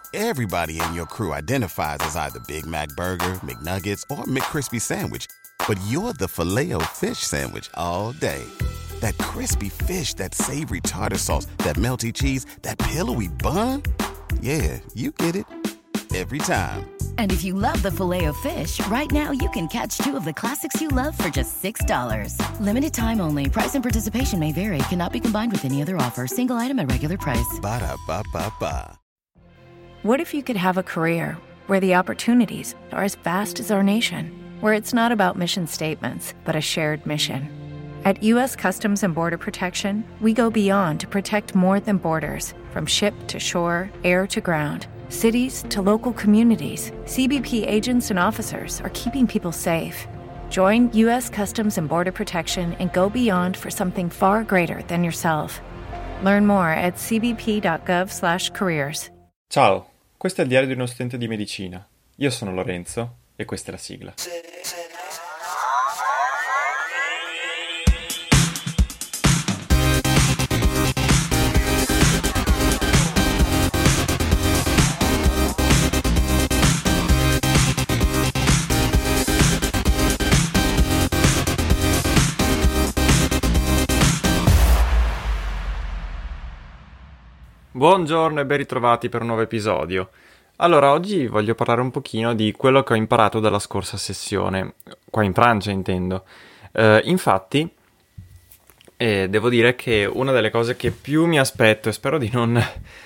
Everybody in your crew identifies as either Big Mac Burger, McNuggets, or McCrispy Sandwich. But you're the Filet-O-Fish Sandwich all day. That crispy fish, that savory tartar sauce, that melty cheese, that pillowy bun. Yeah, you get it. Every time. And if you love the Filet-O-Fish, right now you can catch two of the classics you love for just $6. Limited time only. Price and participation may vary. Cannot be combined with any other offer. Single item at regular price. Ba-da-ba-ba-ba. What if you could have a career where the opportunities are as vast as our nation, where it's not about mission statements, but a shared mission? At U.S. Customs and Border Protection, we go beyond to protect more than borders. From ship to shore, air to ground, cities to local communities, CBP agents and officers are keeping people safe. Join U.S. Customs and Border Protection and go beyond for something far greater than yourself. Learn more at cbp.gov/careers. Ciao, questo è il diario di uno studente di medicina. Io sono Lorenzo e questa è la sigla. Buongiorno e ben ritrovati per un nuovo episodio. Allora, oggi voglio parlare un pochino di quello che ho imparato dalla scorsa sessione, qua in Francia intendo. Infatti, devo dire che una delle cose che più mi aspetto, e spero di non,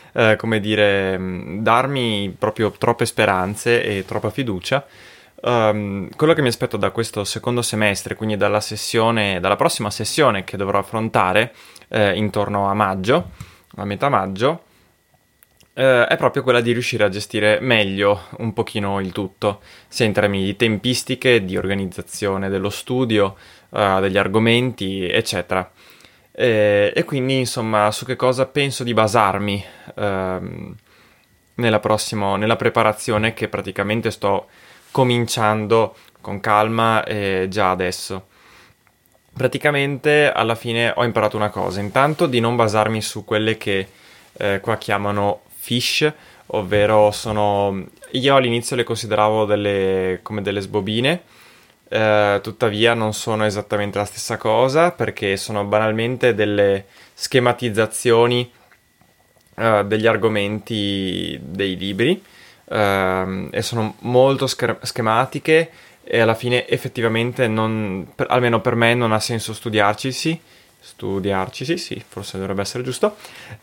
darmi proprio troppe speranze e troppa fiducia, quello che mi aspetto da questo secondo semestre, quindi dalla prossima sessione che dovrò affrontare intorno a maggio, a metà maggio, è proprio quella di riuscire a gestire meglio un pochino il tutto, sia in termini di tempistiche, di organizzazione dello studio, degli argomenti, eccetera. E quindi, insomma, su che cosa penso di basarmi nella preparazione che praticamente sto cominciando con calma già adesso. Praticamente alla fine ho imparato una cosa, intanto di non basarmi su quelle che qua chiamano fiche, ovvero io all'inizio le consideravo come delle sbobine, tuttavia non sono esattamente la stessa cosa perché sono banalmente delle schematizzazioni degli argomenti dei libri e sono molto schematiche. E alla fine effettivamente almeno per me non ha senso studiarci, sì, forse dovrebbe essere giusto.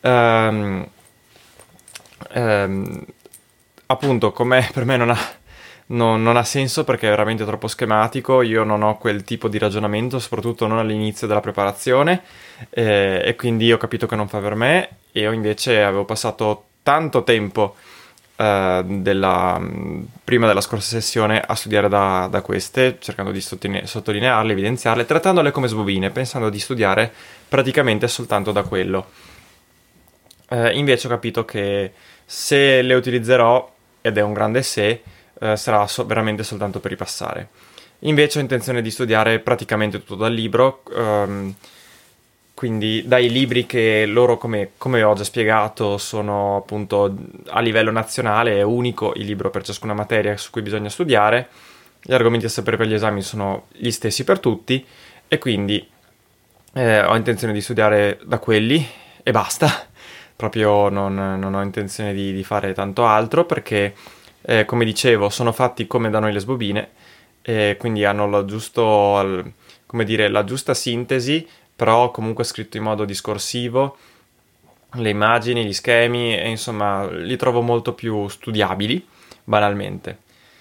Appunto, come per me non ha senso perché è veramente troppo schematico, io non ho quel tipo di ragionamento, soprattutto non all'inizio della preparazione, e quindi ho capito che non fa per me, e io invece avevo passato tanto tempo prima della scorsa sessione a studiare da queste, cercando di sottolinearle, evidenziarle, trattandole come sbobine, pensando di studiare praticamente soltanto da quello. Invece ho capito che se le utilizzerò, ed è un grande se, sarà veramente soltanto per ripassare. Invece ho intenzione di studiare praticamente tutto dal libro, quindi dai libri che loro, come ho già spiegato, sono appunto a livello nazionale, è unico il libro per ciascuna materia su cui bisogna studiare, gli argomenti a sapere per gli esami sono gli stessi per tutti, e quindi ho intenzione di studiare da quelli e basta, proprio non ho intenzione di fare tanto altro perché, come dicevo, sono fatti come da noi le sbobine, e quindi hanno la giusta sintesi, però comunque scritto in modo discorsivo, le immagini, gli schemi, e insomma li trovo molto più studiabili, banalmente.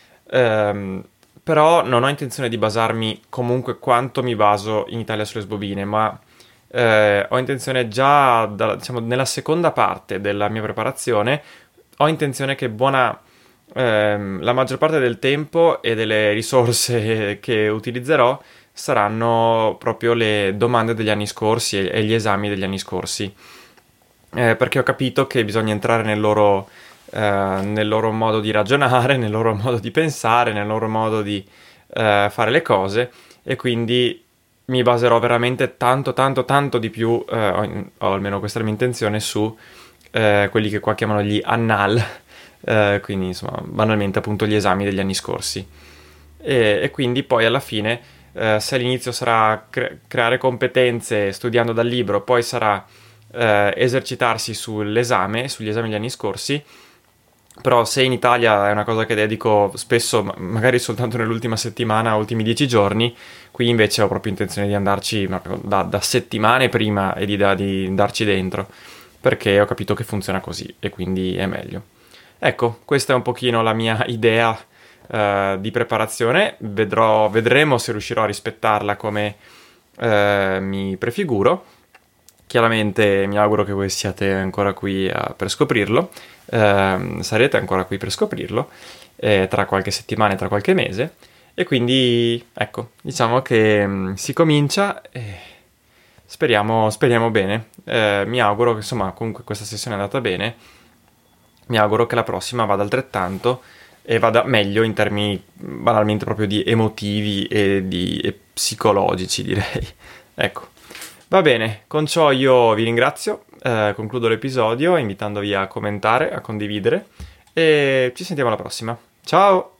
Però non ho intenzione di basarmi comunque quanto mi baso in Italia sulle sbobine, ma ho intenzione già, nella seconda parte della mia preparazione, ho intenzione che la maggior parte del tempo e delle risorse che utilizzerò saranno proprio le domande degli anni scorsi e gli esami degli anni scorsi, perché ho capito che bisogna entrare nel loro modo di ragionare, nel loro modo di pensare, nel loro modo di fare le cose, e quindi mi baserò veramente tanto di più, o almeno questa è la mia intenzione, su quelli che qua chiamano gli annales, quindi insomma banalmente appunto gli esami degli anni scorsi. E quindi poi alla fine, se all'inizio sarà creare competenze studiando dal libro, poi sarà esercitarsi sugli esami degli anni scorsi. Però se in Italia è una cosa che dedico spesso, magari soltanto nell'ultima settimana, ultimi 10 giorni, qui invece ho proprio intenzione di andarci da settimane prima e di andarci dentro, perché ho capito che funziona così e quindi è meglio. Ecco, questa è un pochino la mia idea di preparazione. Vedremo se riuscirò a rispettarla come mi prefiguro. Chiaramente mi auguro che voi siate ancora qui per scoprirlo, sarete ancora qui per scoprirlo tra qualche settimana e tra qualche mese, e quindi ecco, diciamo che si comincia e speriamo bene. Mi auguro che insomma comunque questa sessione è andata bene, mi auguro che la prossima vada altrettanto e vada meglio in termini banalmente proprio di emotivi e psicologici, direi. Ecco. Va bene, con ciò io vi ringrazio, concludo l'episodio invitandovi a commentare, a condividere e ci sentiamo alla prossima. Ciao!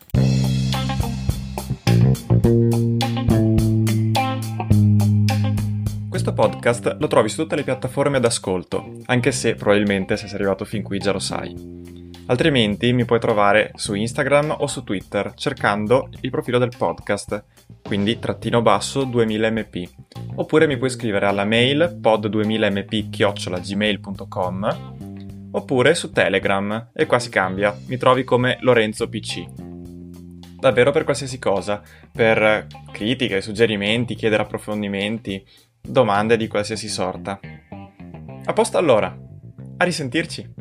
Questo podcast lo trovi su tutte le piattaforme d'ascolto, anche se probabilmente se sei arrivato fin qui già lo sai. Altrimenti mi puoi trovare su Instagram o su Twitter cercando il profilo del podcast, quindi _2000mp, oppure mi puoi scrivere alla mail pod2000mp@gmail.com, oppure su Telegram, e qua si cambia, mi trovi come Lorenzo PC. Davvero per qualsiasi cosa, per critiche, suggerimenti, chiedere approfondimenti, domande di qualsiasi sorta. A posto allora, a risentirci!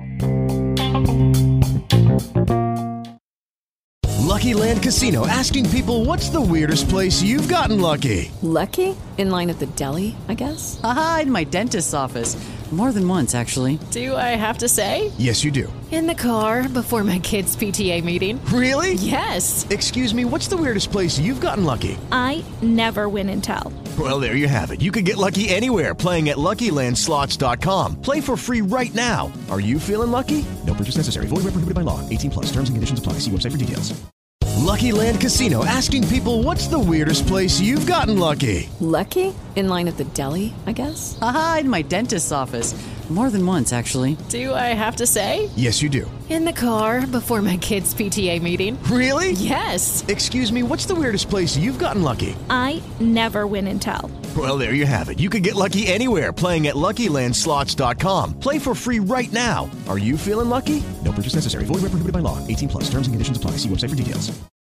Lucky Land Casino, asking people, what's the weirdest place you've gotten lucky? Lucky? In line at the deli, I guess? Aha, in my dentist's office. More than once, actually. Do I have to say? Yes, you do. In the car before my kids' PTA meeting. Really? Yes. Excuse me, what's the weirdest place you've gotten lucky? I never win and tell. Well, there you have it. You can get lucky anywhere, playing at LuckyLandSlots.com. Play for free right now. Are you feeling lucky? No purchase necessary. Void where prohibited by law. 18+. Terms and conditions apply. See website for details. Lucky Land Casino, asking people, what's the weirdest place you've gotten lucky? Lucky? In line at the deli, I guess? Aha, in my dentist's office. More than once, actually. Do I have to say? Yes, you do. In the car before my kids' PTA meeting. Really? Yes. Excuse me, what's the weirdest place you've gotten lucky? I never win and tell. Well, there you have it. You can get lucky anywhere, playing at LuckyLandSlots.com. Play for free right now. Are you feeling lucky? No purchase necessary. Void where prohibited by law. 18+. Terms and conditions apply. See website for details.